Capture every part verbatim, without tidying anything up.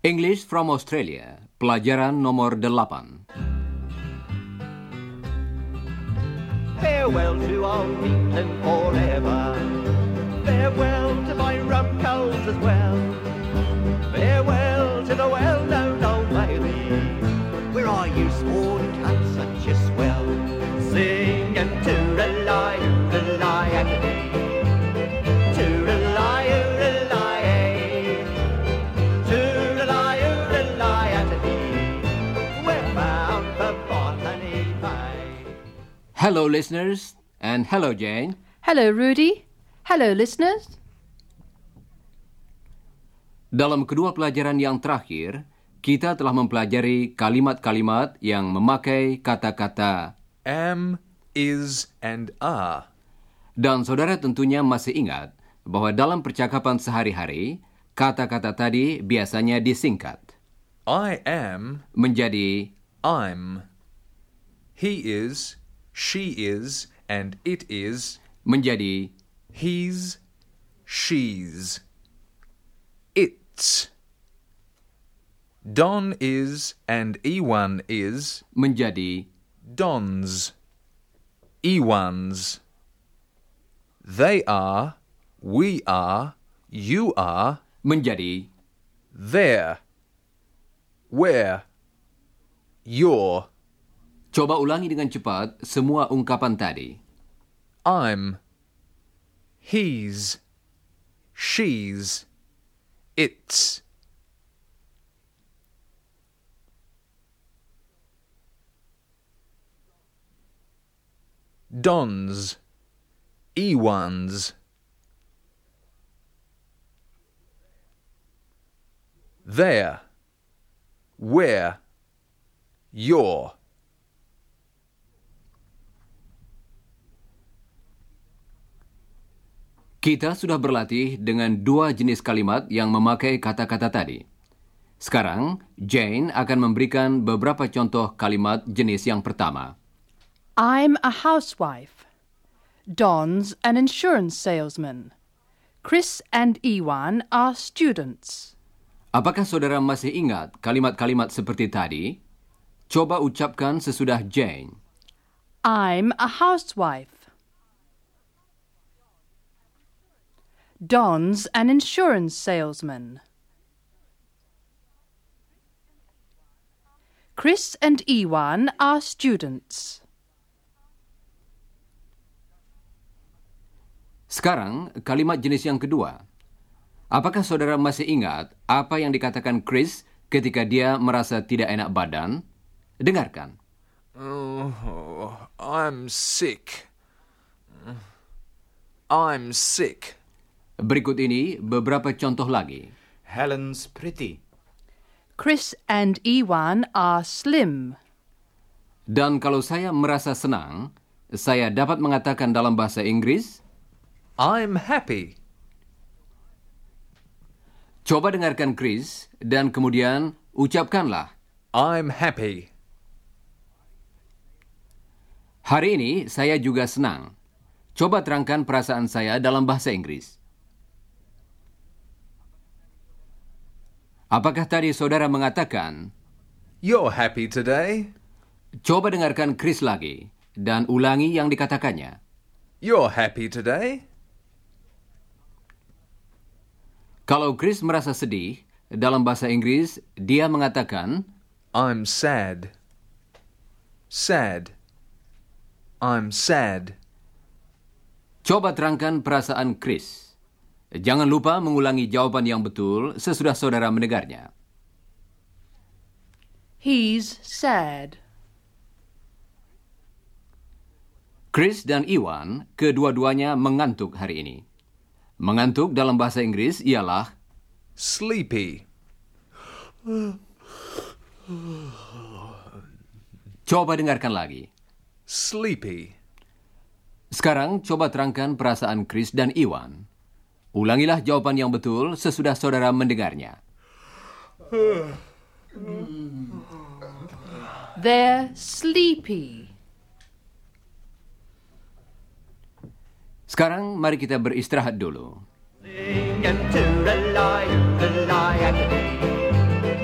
English from Australia, pelajaran nomor delapan. Farewell to old England forever. Farewell to my rum coals as well. Farewell to the well-known Old Bailey. Where are you, sworn cunts, such a swell? Sing and toodle-lie, toodle-lie, Anthony. Toodle-lie, toodle-lie, toodle-lie, toodle-lie, Anthony. We're bound for Botany Bay. Hello listeners, and hello Jane. Hello, Rudy. Hello, listeners. Dalam kedua pelajaran yang terakhir, kita telah mempelajari kalimat-kalimat yang memakai kata-kata am, is, and are. dan saudara tentunya masih ingat bahwa dalam percakapan sehari-hari, kata-kata tadi biasanya disingkat I am, menjadi I'm. He is, she is, and it is. menjadi He's, she's. It's. Don is and Ewan is. menjadi Dons. Ewans. They are, we are, you are. menjadi There. Where. You're. Coba ulangi dengan cepat semua ungkapan tadi. I'm. He's. She's. It's. Dons. Ewans. There. Where. You're. Kita sudah berlatih dengan dua jenis kalimat yang memakai kata-kata tadi. Sekarang, Jane akan memberikan beberapa contoh kalimat jenis yang pertama. I'm a housewife. Don's an insurance salesman. Chris and Ewan are students. Apakah saudara masih ingat kalimat-kalimat seperti tadi? Coba ucapkan sesudah Jane. I'm a housewife. Don's an insurance salesman. Chris and Ewan are students. Sekarang, kalimat jenis yang kedua. Apakah saudara masih ingat apa yang dikatakan Chris ketika dia merasa tidak enak badan? Dengarkan. Oh, I'm sick. I'm sick. Berikut ini beberapa contoh lagi. Helen's pretty. Chris and Ewan are slim. Dan kalau saya merasa senang, saya dapat mengatakan dalam bahasa Inggris, I'm happy. coba dengarkan Chris dan kemudian ucapkanlah. I'm happy. Hari ini saya juga senang. Coba terangkan perasaan saya dalam bahasa Inggris. Apakah tadi saudara mengatakan, You're happy today. coba dengarkan Chris lagi dan ulangi yang dikatakannya. You're happy today. Kalau Chris merasa sedih, dalam bahasa Inggris, dia mengatakan, I'm sad. Sad. I'm sad. coba terangkan perasaan Chris. Jangan lupa mengulangi jawaban yang betul sesudah saudara mendengarnya. He's sad. Chris dan Ewan, kedua-duanya mengantuk hari ini. Mengantuk dalam bahasa Inggris ialah Sleepy. coba dengarkan lagi. Sleepy. Sekarang coba terangkan perasaan Chris dan Ewan. Ulangilah jawaban yang betul sesudah saudara mendengarnya. They're sleepy. Sekarang mari kita beristirahat dulu. Sing and toodle-lie, toodle-lie, Anthony.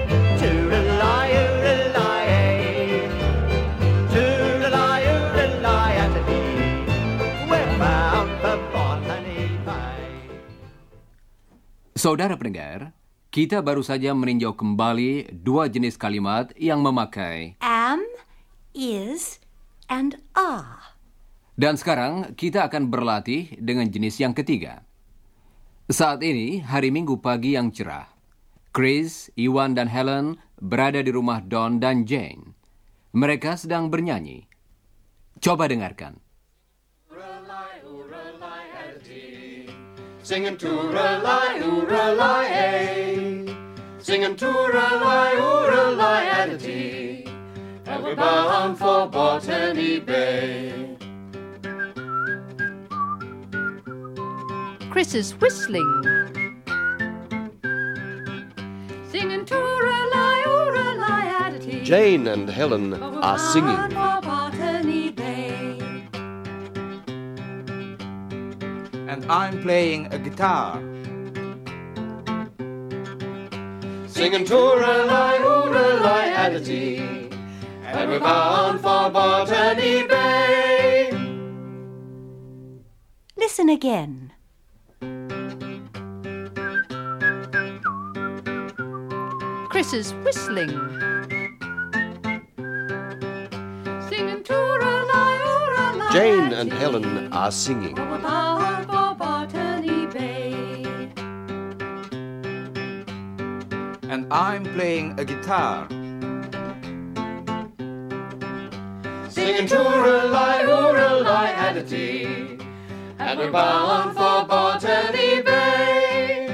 Saudara pendengar, kita baru saja meninjau kembali dua jenis kalimat yang memakai am, is, and are. Dan sekarang kita akan berlatih dengan jenis yang ketiga. Saat ini hari Minggu pagi yang cerah. Chris, Iwan, dan Helen berada di rumah Don dan Jane. Mereka sedang bernyanyi. Coba dengarkan. Singing tooralai, ooralai, ay. Singing tooralai, ooralai, at a tea. And we're bound for Botany Bay. Chris is whistling. Singing tooralai, ooralai, at a tea. Jane and Helen are singing. For Botany Bay. And I'm playing a guitar. Singing tooralai, ooralai, at a tea. And we're bound for Botany Bay. Listen again. Chris is whistling. Singing tooralai, ooralai, Jane at a and tea. Helen are singing. We're bound for Botany Bay. And I'm playing a guitar. Singing tooralai, ooralai, at a tea. And we're bound for Botany Bay.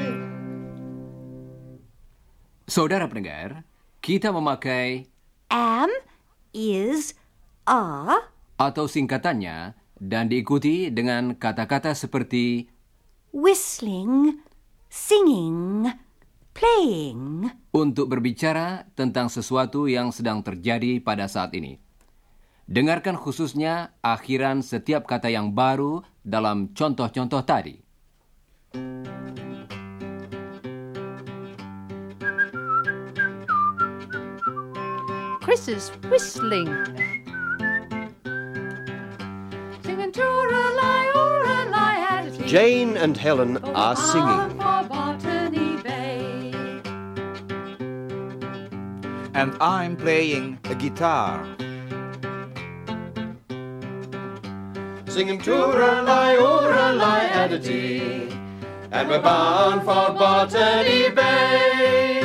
Saudara pendengar, kita memakai Am, is, are, atau singkatannya dan diikuti dengan kata-kata seperti whistling, singing, playing. untuk berbicara tentang sesuatu yang sedang terjadi pada saat ini. Dengarkan khususnya akhiran setiap kata yang baru dalam contoh-contoh tadi. Chris is whistling. Singing tooralai, ooralai, at a tea. Jane and Helen are Bound singing. for Botany Bay. And I'm playing a guitar. Singing tooralai, ooralai, at a tea. And we're bound for Botany Bay.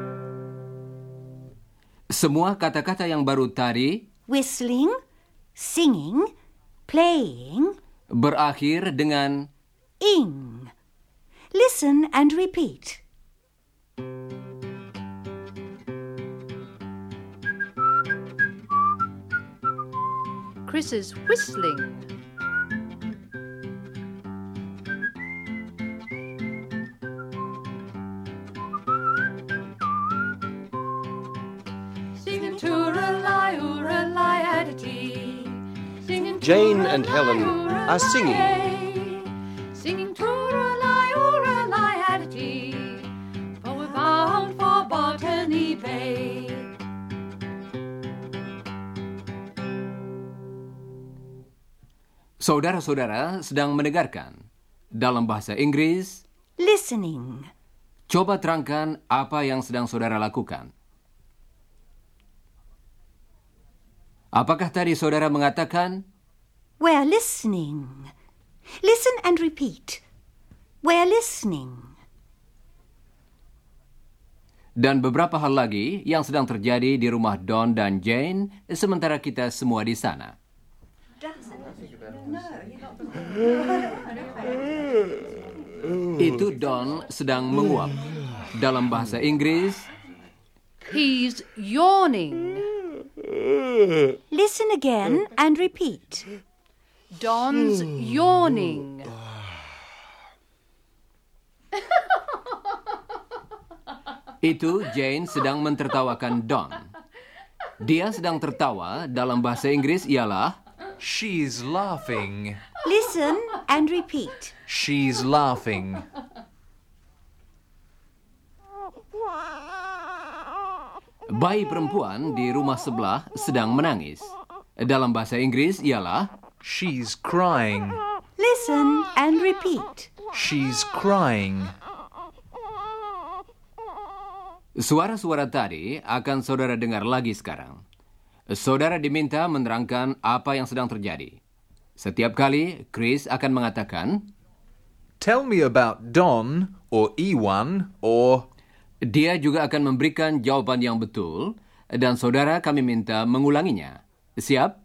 Semua kata-kata yang baru tadi Whistling, singing, playing, berakhir dengan ing. Listen and repeat. Chris is whistling. Singing tooralai, ooralai, at a tea. Singing Jane and tooralai, Helen are ooralai, singing. Singing tooralai, ooralai, at a tea. For we're bound for Botany Bay. saudara-saudara sedang mendengarkan. Dalam bahasa Inggris, Listening. coba terangkan apa yang sedang saudara lakukan. Apakah tadi saudara mengatakan, We're listening. Listen and repeat. We're listening. dan beberapa hal lagi yang sedang terjadi di rumah Don dan Jane sementara kita semua di sana? Itu Don sedang menguap. Dalam bahasa Inggris, He's yawning. Listen again and repeat. Don's yawning. itu Jane sedang mentertawakan Don. Dia sedang tertawa dalam bahasa Inggris ialah She's laughing. Listen and repeat. She's laughing. bayi perempuan di rumah sebelah sedang menangis. Dalam bahasa Inggris ialah She's crying. Listen and repeat. She's crying. Suara-suara tadi akan saudara dengar lagi sekarang. Saudara diminta menerangkan apa yang sedang terjadi. Setiap kali, Chris akan mengatakan, Tell me about Don or Iwan or... Dia juga akan memberikan jawaban yang betul dan saudara kami minta mengulanginya. Siap?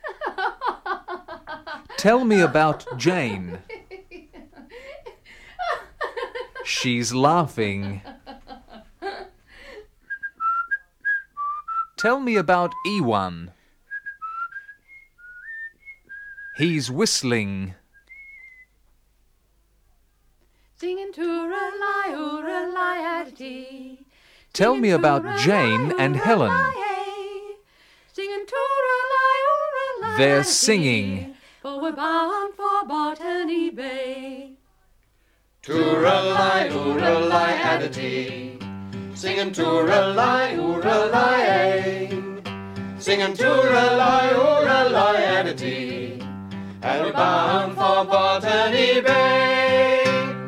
Tell me about Jane. She's laughing. Tell me about Iwan. He's whistling. Singing tooralai, ooralai, adity. Tell me about Jane and Helen. Singing tooralai, ooralai, They're adity. singing. For we're bound for Botany Bay. Tooralai, ooralai, adity. Singing tooralai, ooralai. Singing tooralai, ooralai, adity. And we're bound for Botany Bay.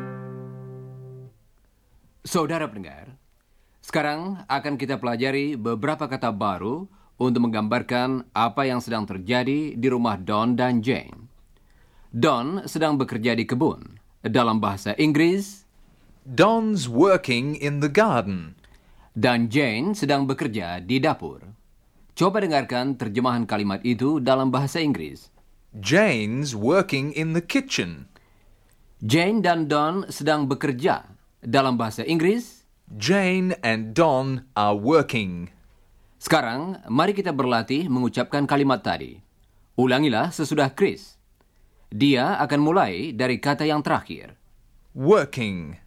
Saudara pendengar, sekarang akan kita pelajari beberapa kata baru untuk menggambarkan apa yang sedang terjadi di rumah Don dan Jane. Don sedang bekerja di kebun. Dalam bahasa Inggris, Don's working in the garden. dan Jane sedang bekerja di dapur. Coba dengarkan terjemahan kalimat itu dalam bahasa Inggris. Jane's working in the kitchen. Jane dan Don sedang bekerja. Dalam bahasa Inggris, Jane and Don are working. sekarang mari kita berlatih mengucapkan kalimat tadi. Ulangilah sesudah Chris. Dia akan mulai dari kata yang terakhir. Working.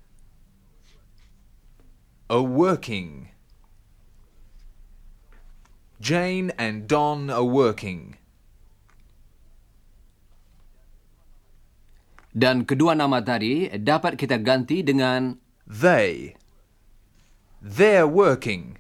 A working. Jane and Don are working. Dan kedua nama tadi dapat kita ganti dengan They. They're working.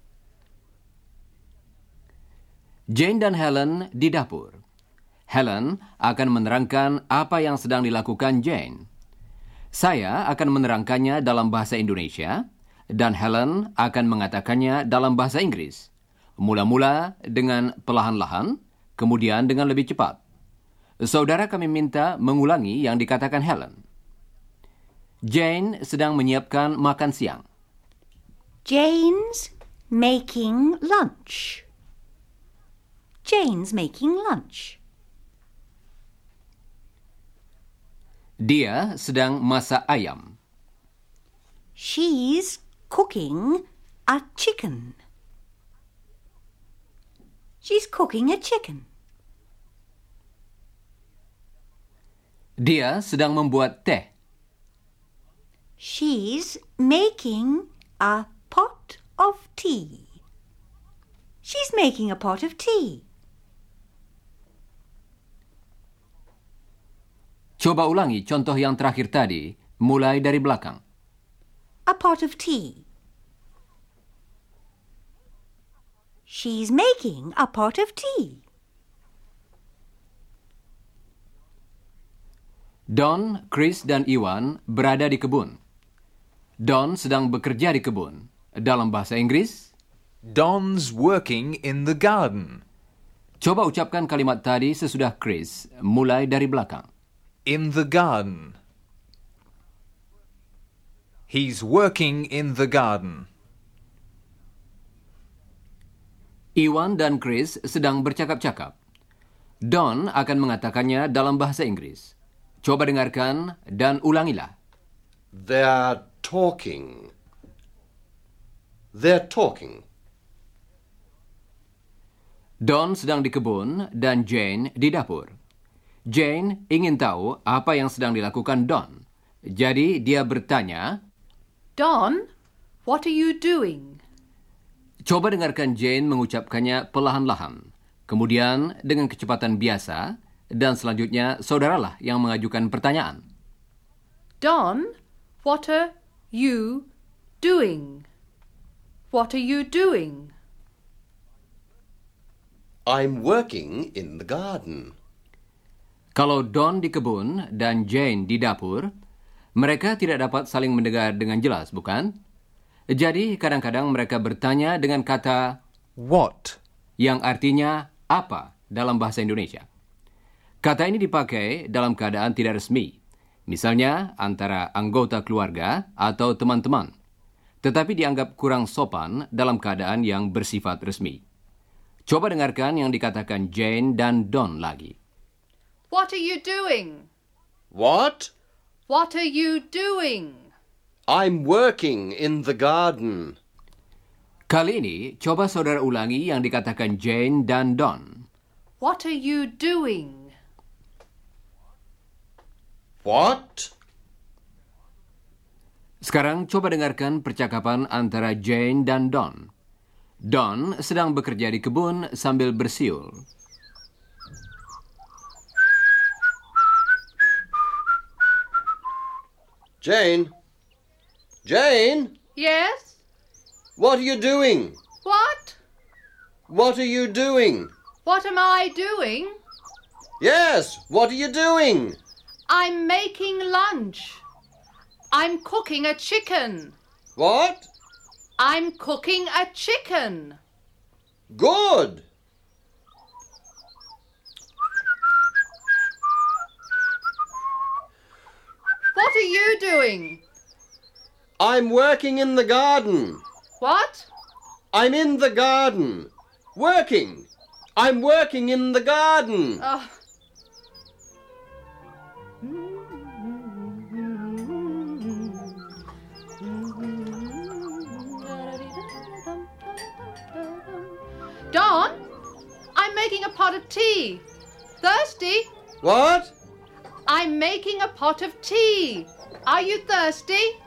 Jane dan Helen di dapur. Helen akan menerangkan apa yang sedang dilakukan Jane. Saya akan menerangkannya dalam bahasa Indonesia, dan Helen akan mengatakannya dalam bahasa Inggris. Mula-mula dengan perlahan-lahan, kemudian dengan lebih cepat. Saudara kami minta mengulangi yang dikatakan Helen. Jane sedang menyiapkan makan siang. Jane's making lunch. Jane's making lunch. Dia sedang masak ayam. She's cooking a chicken. She's cooking a chicken. Dia sedang membuat teh. She's making a pot of tea. She's making a pot of tea. Coba ulangi contoh yang terakhir tadi, mulai dari belakang. A pot of tea. She's making a pot of tea. Don, Chris, dan Iwan berada di kebun. Don sedang bekerja di kebun. Dalam bahasa Inggris, Don's working in the garden. coba ucapkan kalimat tadi sesudah Chris, mulai dari belakang. In the garden. He's working in the garden. Iwan dan Chris sedang bercakap-cakap. Don akan mengatakannya dalam bahasa Inggris. Coba dengarkan dan ulangilah. They're talking. They're talking. Don sedang di kebun dan Jane di dapur. Jane ingin tahu apa yang sedang dilakukan Don. Jadi dia bertanya, Don, what are you doing? coba dengarkan Jane mengucapkannya perlahan-lahan. Kemudian dengan kecepatan biasa, dan selanjutnya saudaralah yang mengajukan pertanyaan. Don, what are you doing? What are you doing? I'm working in the garden. Kalau Don di kebun dan Jane di dapur, mereka tidak dapat saling mendengar dengan jelas, bukan? Jadi, kadang-kadang mereka bertanya dengan kata what. yang artinya apa dalam bahasa Indonesia. Kata ini dipakai dalam keadaan tidak resmi, misalnya antara anggota keluarga atau teman-teman, tetapi dianggap kurang sopan dalam keadaan yang bersifat resmi. Coba dengarkan yang dikatakan Jane dan Don lagi. What are you doing? What? What are you doing? I'm working in the garden. Kali ini, coba saudara ulangi yang dikatakan Jane dan Don. What are you doing? What? Sekarang coba dengarkan percakapan antara Jane dan Don. Don sedang bekerja di kebun sambil bersiul. Jane? Jane? Yes? What are you doing? What? What are you doing? What am I doing? Yes, what are you doing? I'm making lunch. I'm cooking a chicken. What? I'm cooking a chicken. Good. What are you doing? I'm working in the garden. What? I'm in the garden. Working. I'm working in the garden. Oh. Don, I'm making a pot of tea. Thirsty? What? I'm making a pot of tea. Are you thirsty?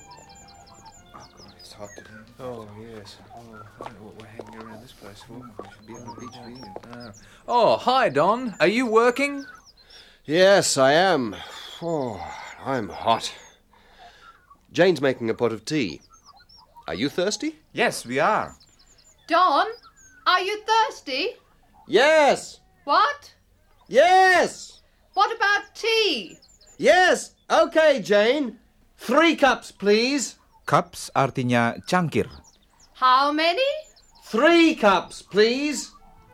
It's hot today. Oh, yes. Oh, I don't know what we're hanging around this place for. We should be on the beach reading. Ah. Oh, hi, Don. Are you working? Yes, I am. Oh, I'm hot. Jane's making a pot of tea. Are you thirsty? Yes, we are. Don, are you thirsty? Yes. What? Yes. What about tea? Yes. Okay, Jane. Three cups, please. Cups artinya cangkir. How many? Three cups, please.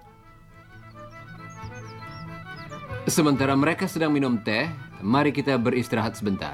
Sementara mereka sedang minum teh, mari kita beristirahat sebentar.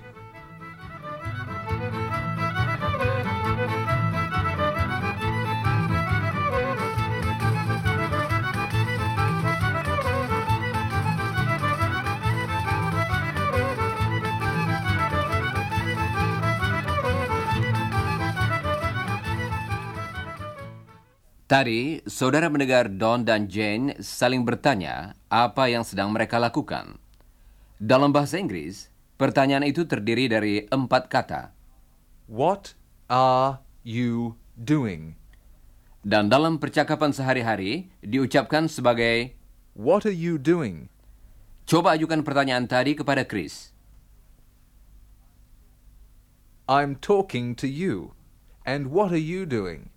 Tadi, saudara mendengar Don dan Jane saling bertanya apa yang sedang mereka lakukan. Dalam bahasa Inggris, pertanyaan itu terdiri dari empat kata. What are you doing? Dan dalam percakapan sehari-hari, diucapkan sebagai, What are you doing? coba ajukan pertanyaan tadi kepada Chris. I'm talking to you. And what are you doing?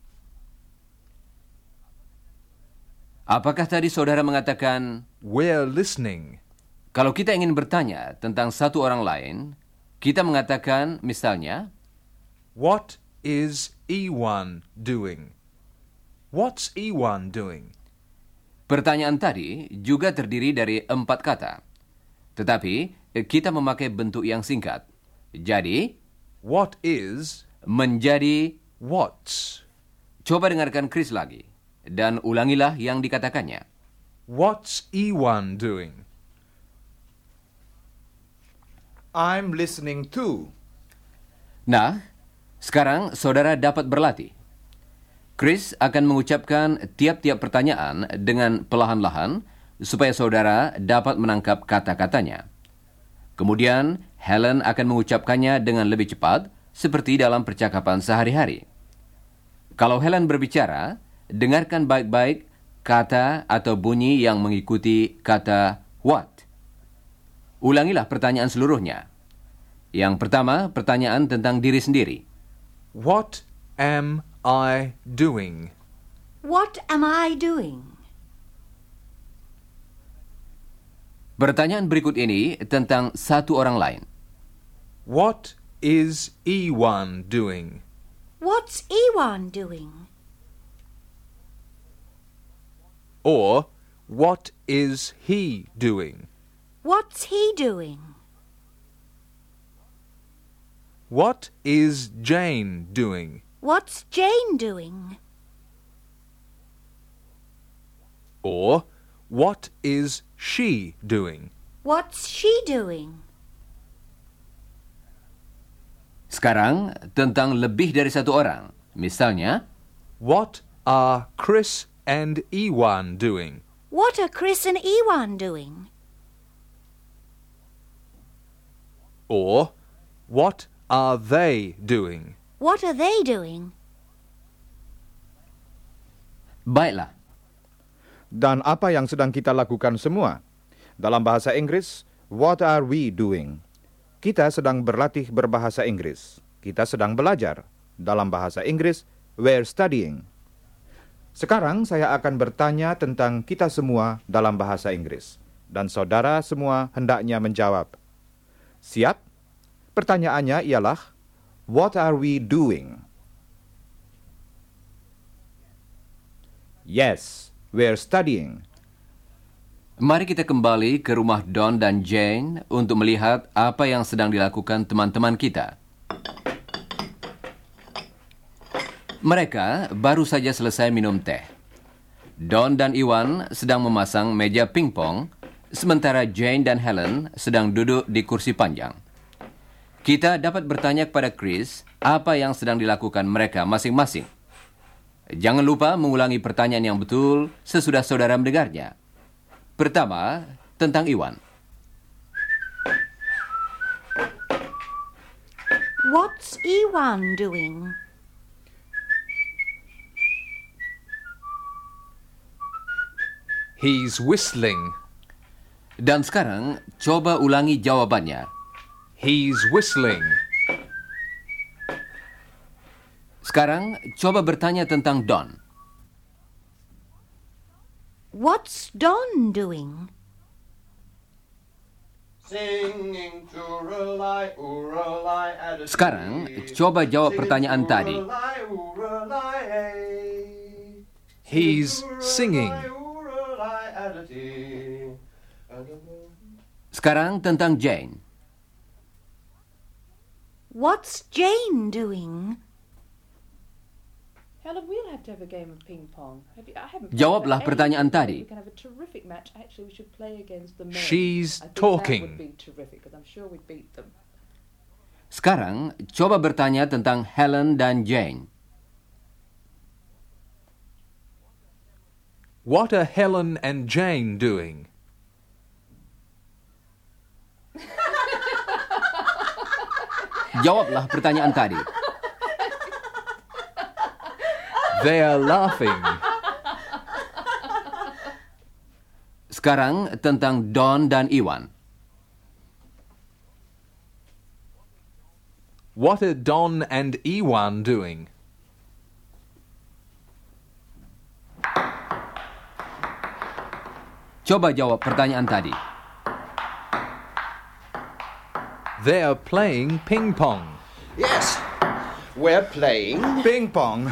Apakah tadi saudara mengatakan, We're listening. kalau kita ingin bertanya tentang satu orang lain, kita mengatakan misalnya, What is Ewan doing? What's Ewan doing? pertanyaan tadi juga terdiri dari empat kata. Tetapi, kita memakai bentuk yang singkat. Jadi, What is menjadi, what's? coba dengarkan Chris lagi. Dan ulangilah yang dikatakannya. What's Ewan doing? I'm listening too. Nah, sekarang saudara dapat berlatih. Chris akan mengucapkan tiap-tiap pertanyaan dengan perlahan-lahan supaya saudara dapat menangkap kata-katanya. Kemudian, Helen akan mengucapkannya dengan lebih cepat seperti dalam percakapan sehari-hari. Kalau Helen berbicara, dengarkan baik-baik kata atau bunyi yang mengikuti kata what. Ulangilah pertanyaan seluruhnya. Yang pertama, pertanyaan tentang diri sendiri. What am I doing? What am I doing? Pertanyaan berikut ini tentang satu orang lain. What is Ewan doing? What's Iwan doing? Or, what is he doing? What's he doing? What is Jane doing? What's Jane doing? Or, what is she doing? What's she doing? Sekarang tentang lebih dari satu orang. Misalnya, What are Chris and Iwan doing? What are Chris and Iwan doing? Or, what are they doing? What are they doing? baiklah. Dan apa yang sedang kita lakukan semua? Dalam bahasa Inggris, what are we doing? Kita sedang berlatih berbahasa Inggris. Kita sedang belajar. Dalam bahasa Inggris, we're studying. Sekarang saya akan bertanya tentang kita semua dalam bahasa Inggris. Dan saudara semua hendaknya menjawab. Siap? Pertanyaannya ialah, what are we doing? Yes, we're studying. Mari kita kembali ke rumah Don dan Jane untuk melihat apa yang sedang dilakukan teman-teman kita. Mereka baru saja selesai minum teh. Don dan Iwan sedang memasang meja pingpong, sementara Jane dan Helen sedang duduk di kursi panjang. Kita dapat bertanya kepada Chris apa yang sedang dilakukan mereka masing-masing. Jangan lupa mengulangi pertanyaan yang betul sesudah saudara mendengarnya. Pertama, tentang Iwan. What's Iwan doing? He's whistling. Dan sekarang, coba ulangi jawabannya. He's whistling. Sekarang, coba bertanya tentang Don. What's Don doing? Singing tooralai, ooralai, at a Sekarang, coba jawab pertanyaan tadi. Tooralai, ooralai, hey. He's singing. Ooralai, at a tea. Sekarang tentang Jane. What's Jane doing? Helen, we'll have to have a game of ping pong. Have you, I haven't played Jawablah for ages. pertanyaan tadi. We can have a terrific match. Actually, we should play against the men. She's I think talking. That would be terrific because I'm sure we'd beat them. Sekarang, coba bertanya tentang Helen dan Jane. What are Helen and Jane doing? Jawablah pertanyaan tadi. They are laughing. Sekarang tentang Don dan Iwan. What are Don and Iwan doing? Coba jawab pertanyaan tadi. They are playing ping pong. Yes, we're playing. Ping pong.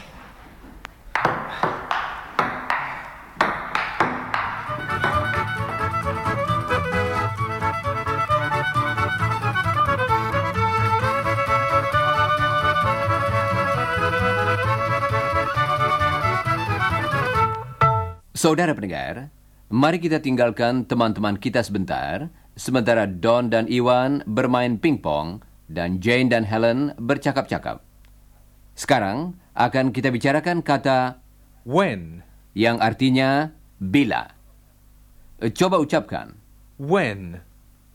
Saudara pendengar, mari kita tinggalkan teman-teman kita sebentar, sementara Don dan Iwan bermain pingpong dan Jane dan Helen bercakap-cakap. Sekarang akan kita bicarakan kata When? yang artinya bila. Coba ucapkan. When?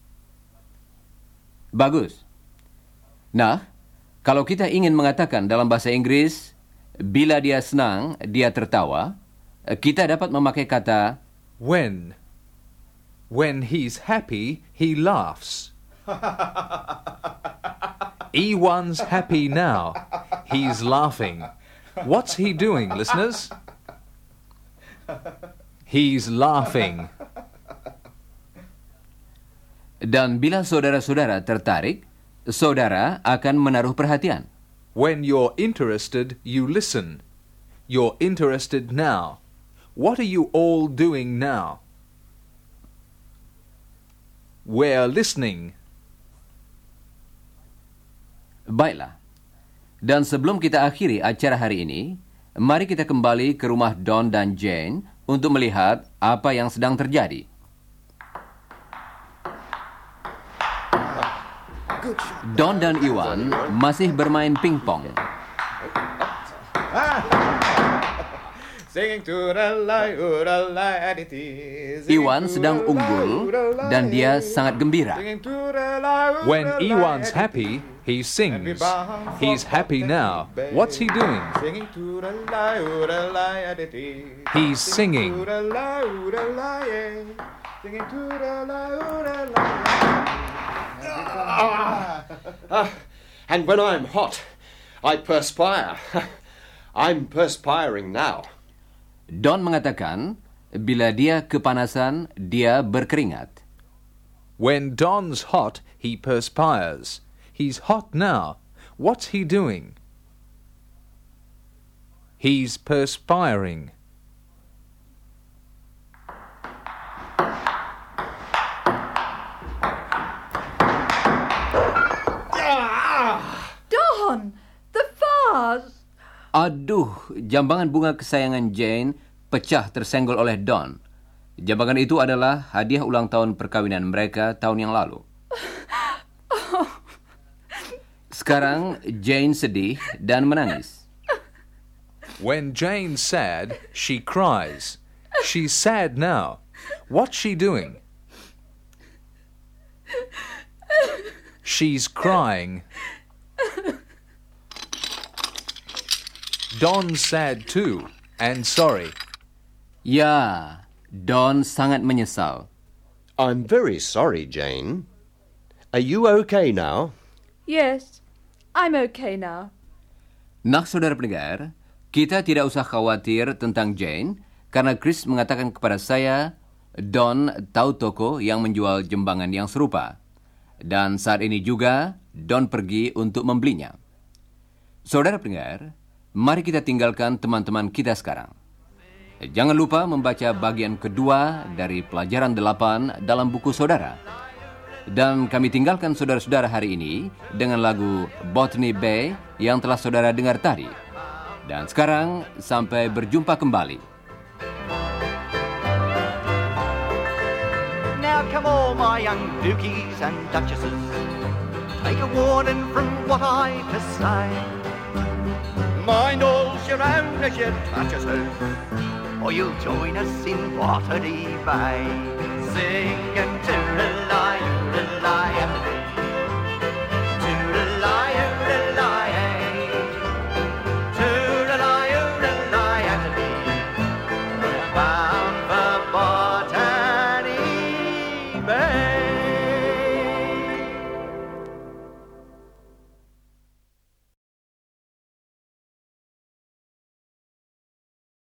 Bagus. Nah, kalau kita ingin mengatakan dalam bahasa Inggris, bila dia senang, dia tertawa, kita dapat memakai kata When? When he's happy, he laughs. Iwan's happy now. He's laughing. What's he doing, listeners? He's laughing. Dan bila saudara-saudara tertarik, saudara akan menaruh perhatian. When you're interested, you listen. You're interested now. What are you all doing now? We're listening. Baiklah. Dan sebelum kita akhiri acara hari ini, mari kita kembali ke rumah Don dan Jane untuk melihat apa yang sedang terjadi. Don dan Iwan masih bermain pingpong. Iwan sedang unggul dan dia sangat gembira. When Iwan's happy, he sings. He's happy now. What's he doing? He's singing. Ah, and when I'm hot, I perspire. I'm perspiring now. Don mengatakan, bila dia kepanasan, dia berkeringat. When Don's hot, he perspires. He's hot now. What's he doing? He's perspiring. Don, the vase! Aduh, jambangan bunga kesayangan Jane pecah tersenggol oleh Don. Jambangan itu adalah hadiah ulang tahun perkawinan mereka tahun yang lalu. Sekarang Jane sedih dan menangis. When Jane's sad, she cries. She's sad now. What's she doing? She's crying. Don's sad too, and sorry. Ya, Don sangat menyesal. I'm very sorry, Jane. Are you okay now? Yes, I'm okay now. Nah, saudara pendengar, kita tidak usah khawatir tentang Jane, karena Chris mengatakan kepada saya, Don tahu toko yang menjual jembangan yang serupa. Dan saat ini juga, Don pergi untuk membelinya. Saudara pendengar, mari kita tinggalkan teman-teman kita sekarang. Jangan lupa membaca bagian kedua dari pelajaran delapan dalam buku saudara. Dan kami tinggalkan saudara-saudara hari ini dengan lagu Botany Bay yang telah saudara dengar tadi. Dan sekarang, sampai berjumpa kembali. Now come all my young dukies and duchesses, take a warning from what I have to say. Mind all's your own as you touch us, or you'll join us in Botany Bay, singing to the